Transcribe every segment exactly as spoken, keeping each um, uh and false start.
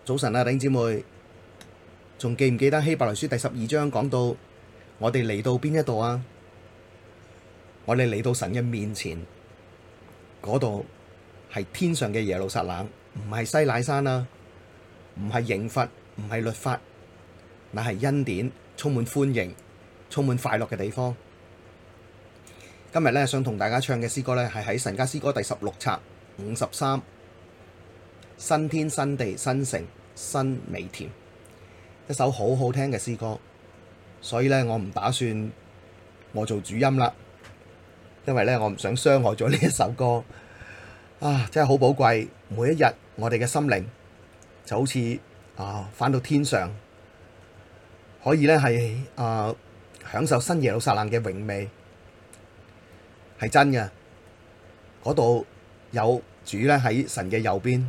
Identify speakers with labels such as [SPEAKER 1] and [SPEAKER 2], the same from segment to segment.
[SPEAKER 1] 早晨啊，弟兄姊妹，仲記唔記得希伯來書第十二章講到我哋嚟到邊一度啊？我哋嚟到神嘅面前，嗰度係天上嘅耶路撒冷，唔係西乃山啊，唔係刑罰，唔係律法，乃係恩典，充滿歡迎，充滿快樂嘅地方。今日咧想同大家唱嘅詩歌咧，係喺神家詩歌第十六冊五十三。新天新地新城新美甜，一首好好聽嘅詩歌，所以咧我唔打算我做主音啦，因為咧我唔想傷害咗呢一首歌啊，真係好寶貴。每一日我哋嘅心靈就好似啊返到天上，可以咧係啊享受新耶路撒冷嘅榮美，係真嘅。嗰度有主咧喺神嘅右邊。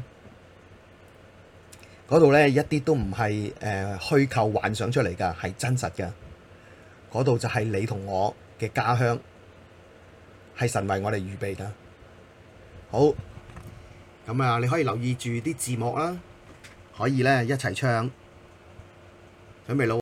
[SPEAKER 1] 嗰度咧一啲都唔係誒虛構幻想出嚟噶，係真實嘅。嗰度就係你同我嘅家鄉，係神為我哋預備噶。好，咁啊，你可以留意住啲字幕啦，可以咧一齊唱，準備咯。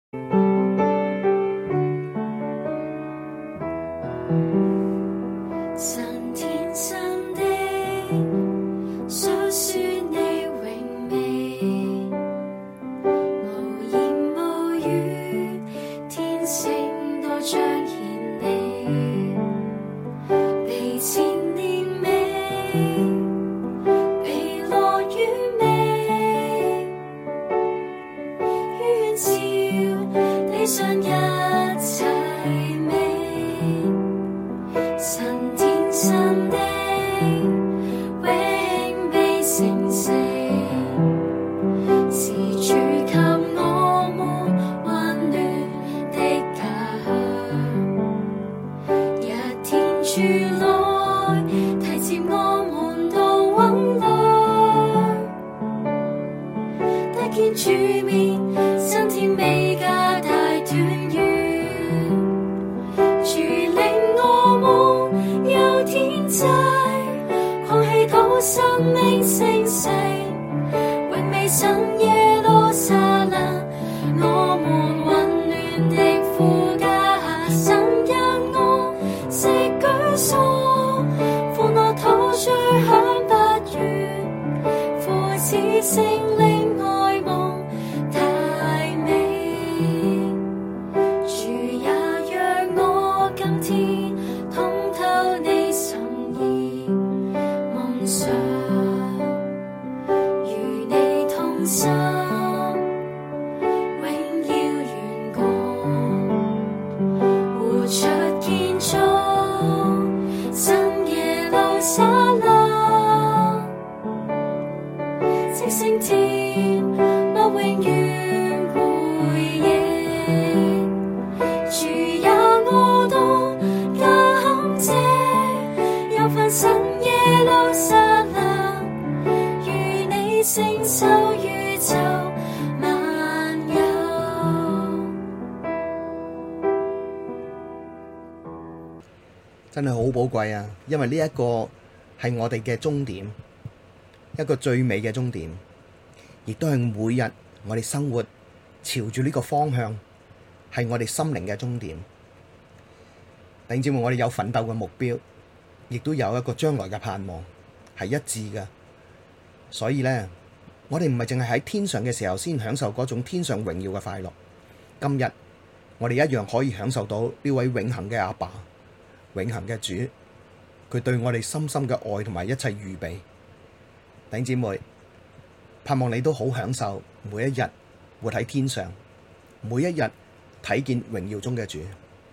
[SPEAKER 1] 真係好寶貴啊！因為呢一個係我哋嘅終點，一個最美嘅終點，亦都係每日我哋生活朝住呢個方向，係我哋心靈嘅終點。弟兄姊妹，我哋有奮鬥嘅目標，亦都有一個將來嘅盼望，係一致嘅。所以呢，我哋唔係淨係喺天上嘅時候先享受嗰種天上榮耀嘅快樂。今日我哋一樣可以享受到呢位永恆嘅阿爸。永恆嘅主，佢對我哋深深嘅愛同埋一切預備。弟兄姊妹，盼望你都好享受每一日活喺天上，每一日睇見榮耀中嘅主。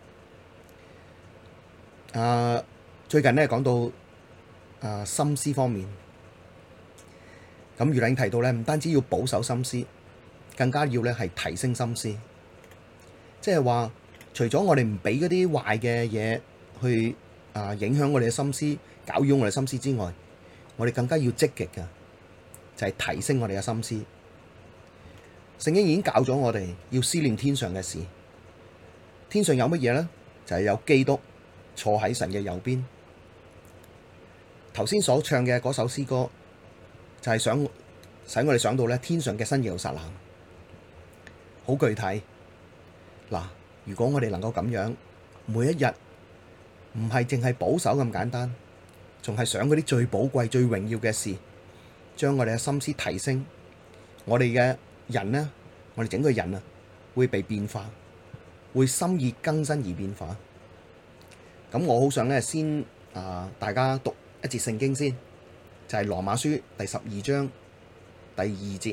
[SPEAKER 1] 啊，最近呢講到啊心思方面，咁余領提到咧，唔單止要保守心思，更加要咧係提升心思，即係話除咗我哋唔俾嗰啲壞嘅嘢去啊影響我哋嘅心思，攪擾我哋心思之外，我哋更加要積極嘅，就係提升我哋嘅心思。聖經已經教咗我哋要思念天上嘅事，天上有乜嘢呢？就係有基督坐喺神嘅右邊。頭先所唱嘅嗰首詩歌，就係想使我哋想到咧天上嘅新耶路撒冷，好具體。嗱，如果我哋能夠咁樣，每一日唔係淨係保守咁簡單，仲係想嗰啲最寶貴、最榮耀嘅事，將我哋嘅心思提升，我哋嘅人呢，我哋整個人啊，會被變化，會心意更新而變化。咁我好想咧，先啊，大家讀一節聖經先，就係羅馬書第十二章第二節，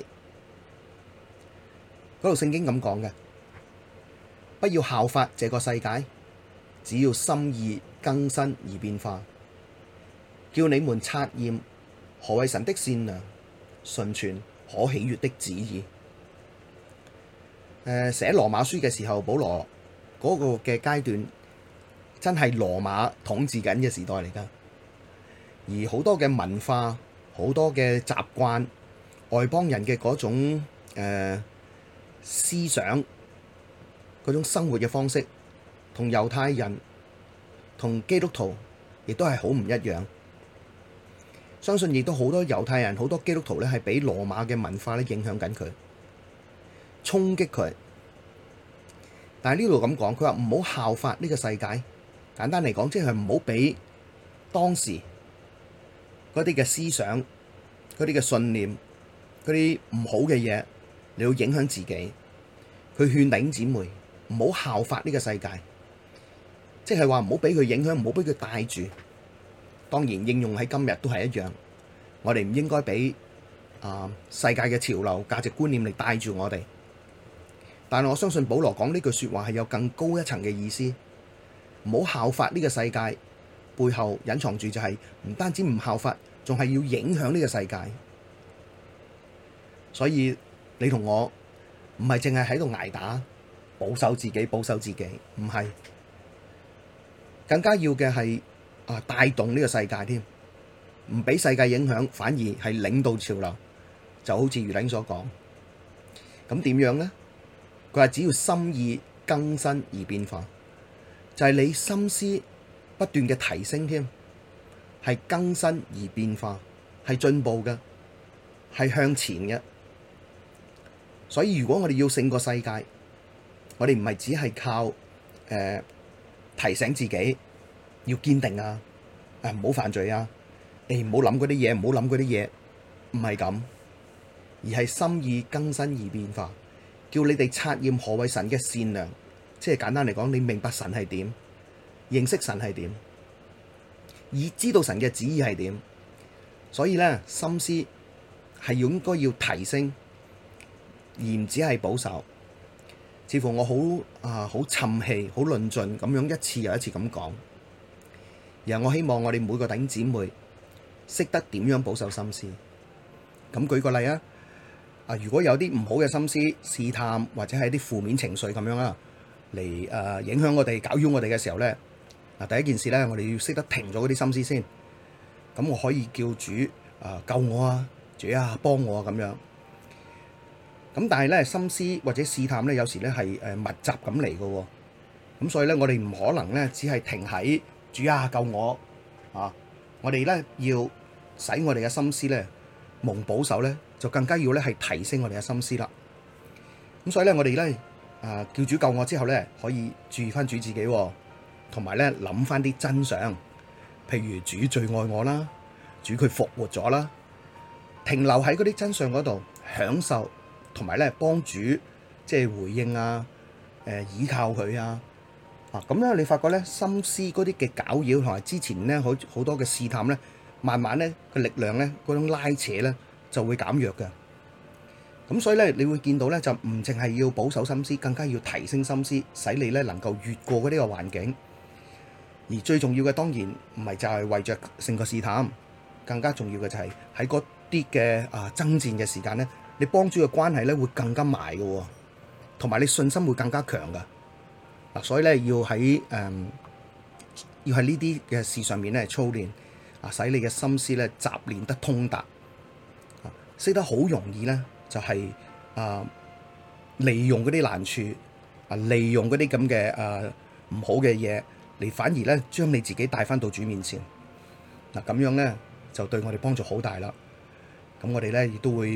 [SPEAKER 1] 嗰度聖經咁講嘅：不要效法這個世界，只要心意更新而變化，叫你們察驗何為神的善良、純全、可喜悅的旨意。誒，寫羅馬書嘅時候，保羅嗰個嘅階段真係羅馬統治緊嘅時代嚟噶，而好多嘅文化、好多嘅習慣、外邦人嘅嗰種誒、呃、思想、嗰種生活嘅方式，同猶太人、同基督徒亦都係好唔一樣。相信亦都好多猶太人、好多基督徒咧，係俾羅馬嘅文化咧影響緊佢，衝擊佢。但係呢度咁講，佢話唔好效法呢個世界。簡單嚟講，即係唔好俾當時嗰啲嘅思想、嗰啲嘅信念、嗰啲唔好嘅嘢，你要影響自己。佢勸弟兄姊妹唔好效法呢個世界，即係話唔好俾佢影響，唔好俾佢帶住。當然應用喺今日都係一樣，我哋唔應該俾啊世界嘅潮流、價值觀念嚟帶住我哋。但係我相信保羅講呢句說話係有更高一層嘅意思。唔好效法呢個世界，背後隱藏住就係唔單止唔效法，仲係要影響呢個世界。所以你同我唔係淨係喺度捱打，保守自己，保守自己，唔係，更加要嘅係啊帶動呢個世界添，唔俾世界影響，反而係領導潮流。就好似余領所講，咁點樣呢？佢話只要心意更新而變化。就係你心思不斷嘅提升添，係更新而變化，係進步嘅，係向前嘅。所以如果我哋要勝過世界，我哋唔係只係靠誒、呃、提醒自己要堅定啊，誒唔好犯罪啊，誒唔好諗嗰啲嘢，唔好諗嗰啲嘢，唔係咁，而係心意更新而變化，叫你哋察驗何為神嘅善良。即係簡單嚟講，你明白神係點，認識神係點，以知道神嘅旨意係點。所以咧，心思係應該要提升，而唔只係保守。似乎我好啊，好沉氣，好論盡咁樣一次又一次咁講。然後我希望我哋每個弟兄姊妹識得點樣保守心思。咁舉個例啊，啊如果有啲唔好嘅心思試探，或者係啲負面情緒咁樣啊，嚟誒影響我哋、攪擾我哋嘅時候咧，嗱第一件事咧，我哋要識得停咗嗰啲心思先。咁我可以叫主啊救我啊，主啊幫我啊咁樣。咁但係咧，心思或者試探咧，有時咧係誒密集咁嚟嘅。咁所以咧，我哋唔可能咧只係停喺主啊救我啊。我哋咧要使我哋嘅心思咧蒙保守咧，就更加要咧係提升我哋嘅心思啦。咁所以咧，我哋咧。啊！叫主救我之後咧，可以注意翻主自己，同埋咧諗翻啲真相，譬如主最愛我啦，主佢復活咗啦，停留喺嗰啲真相嗰度享受，同埋咧幫主即係回應啊，誒、呃、倚靠佢啊，啊咁咧你發覺咧心思嗰啲嘅攪擾同埋之前咧好好多嘅試探咧，慢慢咧個力量咧嗰種拉扯咧就會減弱嘅。咁所以咧，你會見到咧，就唔淨係要保守心思，更加要提升心思，使你咧能夠越過嗰啲個環境。而最重要嘅當然唔係就係為着勝過試探，更加重要嘅就係喺嗰啲嘅啊爭戰嘅時間咧，你幫主嘅關係咧會更加埋嘅，同埋你信心會更加強噶。嗱，所以咧要喺誒、嗯、要喺呢啲嘅事上面咧操練啊，使你嘅心思咧習練得通達，啊，識得好容易咧。就係、是、啊，利用嗰啲難處啊，利用嗰啲咁嘅啊唔好嘅嘢，你反而咧將你自己帶翻到主面前嗱，咁樣咧就對我哋幫助好大啦。咁我哋咧亦都會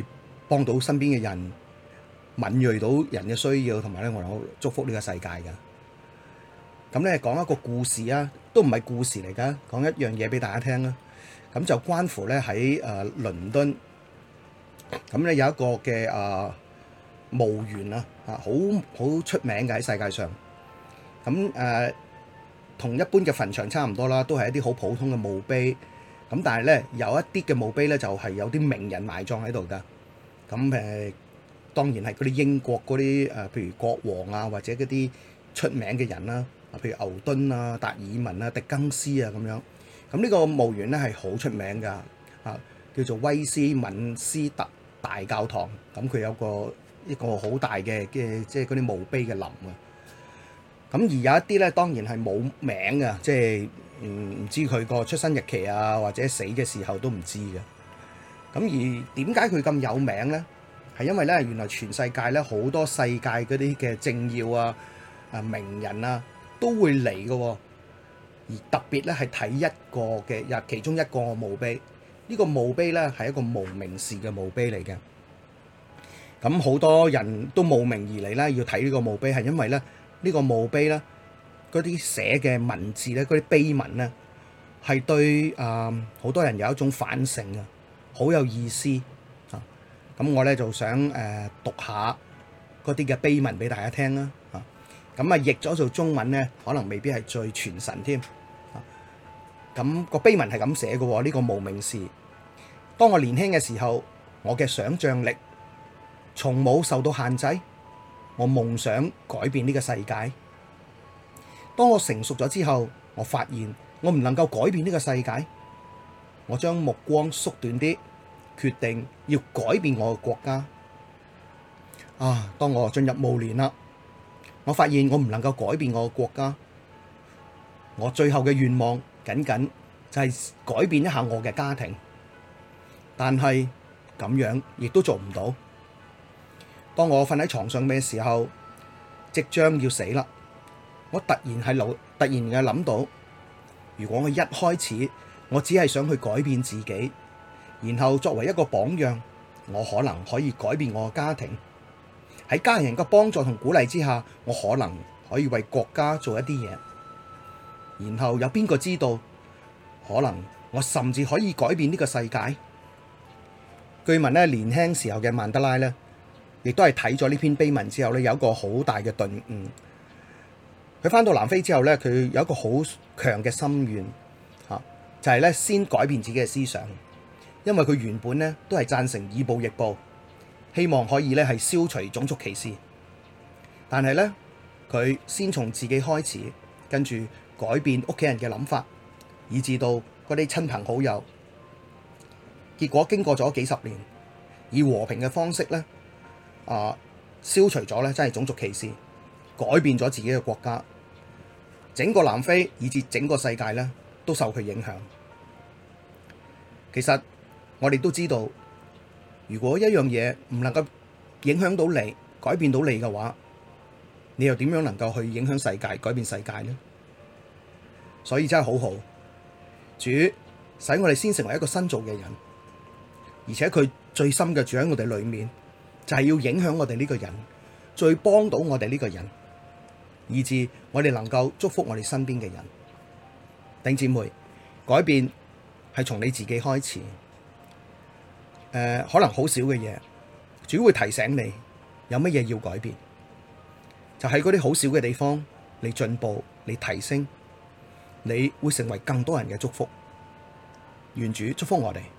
[SPEAKER 1] 幫到身邊嘅人，敏銳到人嘅需要，同埋咧我能夠祝福呢個世界噶。咁咧講一個故事啊，都唔係故事嚟噶，講一樣嘢俾大家聽啦。咁就關乎咧喺誒倫敦，咁咧有一個嘅誒墓園啊，啊好好出名嘅喺世界上。咁誒同一般嘅墳場差唔多啦，都係一啲好普通嘅墓碑。咁但係咧有一啲嘅墓碑咧就係有啲名人埋葬喺度噶。咁誒當然係嗰啲英國嗰啲誒，譬如國王啊，或者嗰啲出名嘅人啦，啊譬如牛頓啊、達爾文啊、狄更斯啊咁樣。咁呢個墓園咧係好出名噶，啊叫做威斯敏斯特大教堂。咁佢有個一個好大嘅嘅即係嗰啲墓碑嘅林啊。咁而有一啲咧當然係冇名嘅，即係唔唔知佢個出生日期啊，或者死嘅時候都唔知嘅。咁而點解佢咁有名咧？係因為咧原來全世界咧好多世界嗰啲嘅政要啊、啊名人啊都會嚟嘅。而特別咧係睇一個嘅，又其中一個墓碑。呢個墓碑咧係一個無名氏嘅墓碑嚟嘅。咁好多人都慕名而嚟咧，要睇呢個墓碑，係因為咧呢個墓碑咧嗰啲寫嘅文字咧，嗰啲碑文咧係對啊好多人有一種反省啊，好有意思啊。咁我咧就想誒讀下嗰啲嘅碑文俾大家聽啦。啊，咁啊譯咗做中文咧，可能未必係最傳神添。咁個碑文係咁寫嘅喎，呢個無名氏。當我年輕嘅時候，我嘅想像力從冇受到限制，我夢想改變呢個世界。當我成熟咗之後，我發現我唔能夠改變呢個世界，我將目光縮短啲，決定要改變我嘅國家。啊！當我進入暮年啦，我發現我唔能夠改變我嘅國家，我最後嘅願望僅僅就係改變一下我嘅家庭，但係咁樣亦都做唔到。當我瞓喺床上嘅時候，即將要死啦，我突然係諗，突然嘅諗到，如果我一開始我只係想去改變自己，然後作為一個榜樣，我可能可以改變我嘅家庭。喺家人嘅幫助同鼓勵之下，我可能可以為國家做一啲嘢。然後有邊個知道，可能我甚至可以改變呢個世界。據聞咧，年輕時候嘅曼德拉咧，亦都係睇咗呢篇碑文之後咧，有一個好大嘅頓悟。佢返到南非之後咧，佢有一個好強嘅心願，嚇就係咧先改變自己嘅思想，因為佢原本咧都係贊成以暴易暴，希望可以咧係消除種族歧視。但係咧，佢先從自己開始，跟住改變屋企人嘅諗法，以至到嗰啲親朋好友。結果經過咗幾十年，以和平嘅方式咧，啊消除咗咧真係種族歧視，改變咗自己嘅國家，整個南非以至整個世界咧都受佢影響。其實我哋都知道，如果一樣嘢唔能夠影響到你、改變到你嘅話，你又點樣能夠去影響世界、改變世界呢？所以真係好好，主使我哋先成為一個新造嘅人，而且佢最深嘅住喺我哋裏面，就係要影響我哋呢個人，最幫到我哋呢個人，以致我哋能夠祝福我哋身邊嘅人。弟兄姊妹，改變係從你自己開始。誒、呃，可能好少嘅嘢，主會提醒你有乜嘢要改變，就喺嗰啲好少嘅地方，你進步，你提升，你會成為更多人嘅祝福。願主祝福我哋。